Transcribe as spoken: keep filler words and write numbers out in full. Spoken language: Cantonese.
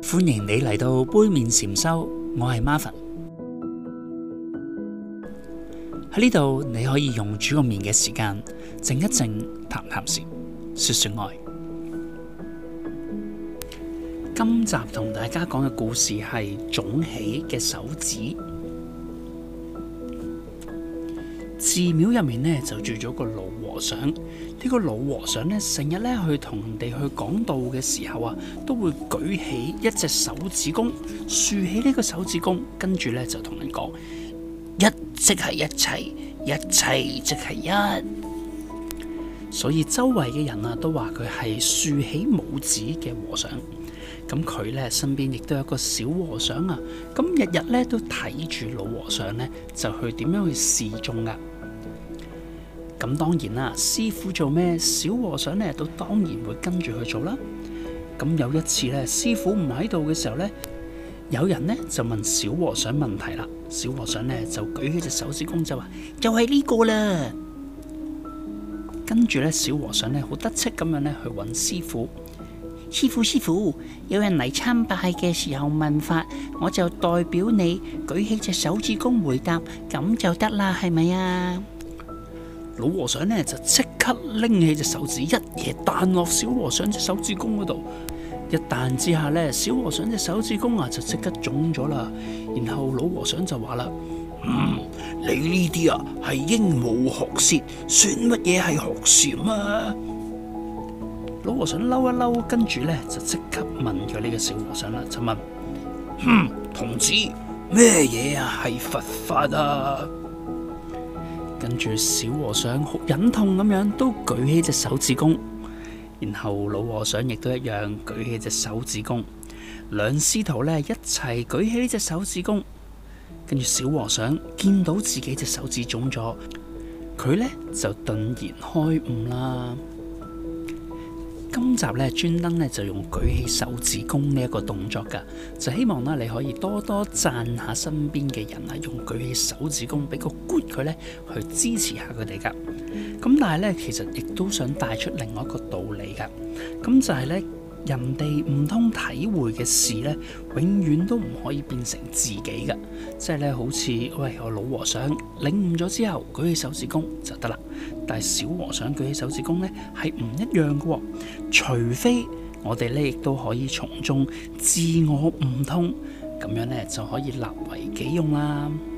歡迎你嚟到杯麵禪修，我係 Marvin。喺呢度你可以用煮個麵嘅時間靜一靜，談談禪，說說愛。今集同大家講嘅故事係腫起嘅手指。寺廟入面呢就住咗個老和尚，呢、這個老和尚呢成日呢去同人哋去講道嘅時候啊，都會舉起一隻手指公，豎起呢個手指公，跟住呢就同人講：一即係一切，一切即係一。所以周圍嘅人啊都話佢係豎起拇指嘅和尚。咁佢呢身邊亦都有一個小和尚啊，咁日日呢都睇住老和尚呢，就去點樣去示眾啊。咁當然啦，師傅做咩，小和尚呢都當然會跟住去做啦。咁有一次呢，師傅唔喺度嘅時候呢，有人呢就問小和尚問題啦。小和尚呢就舉起隻手指公就話：就係呢個啦。跟住呢，小和尚呢好得戚咁樣呢去揾師傅。師傅師傅，有人嚟參拜嘅時候問法，我就代表你舉起隻手指公回答，咁就得啦，係咪啊？老和尚呢就即刻拎起隻手指，一嘢彈落小和尚隻手指公嗰度。一彈之下呢，小和尚隻手指公啊就即刻腫咗啦。然後老和尚就話啦：嗯，你呢啲啊係鸚鵡學舌，算乜嘢係學禪啊？老和尚嬲一嬲，跟住呢就即刻問咗呢個小和尚啦，就問：哼，童子，咩嘢啊係佛法啊？跟住小和尚好忍痛咁樣都舉起隻手指公，然後老和尚亦都一樣舉起隻手指公，兩師徒呢一齊舉起呢隻手指公，跟住小和尚見到自己隻手指腫咗，佢呢就頓然開悟啦。今集咧專登咧就用舉起手指公呢一個動作噶，就希望咧你可以多多讚下身邊嘅人啊，用舉起手指公俾個 good 佢咧去支持下佢哋噶。咁但係咧其實亦都想帶出另外一個道理噶，咁就係咧人哋唔通體會嘅事咧，永遠都唔可以變成自己噶。即係咧好似喂我老和尚領悟咗之後舉起手指公就得啦，但係小和尚舉起手指公咧係唔一樣噶，除非我哋咧亦都可以從中自我悟通，咁樣咧就可以立為己用啦。